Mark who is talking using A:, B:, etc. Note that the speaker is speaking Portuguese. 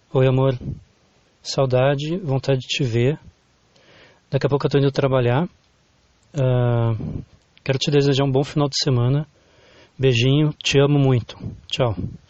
A: Oi, amor. Saudade, vontade de te ver. Daqui a pouco eu tô indo trabalhar. Quero te desejar um bom final de semana. Beijinho, te amo muito. Tchau.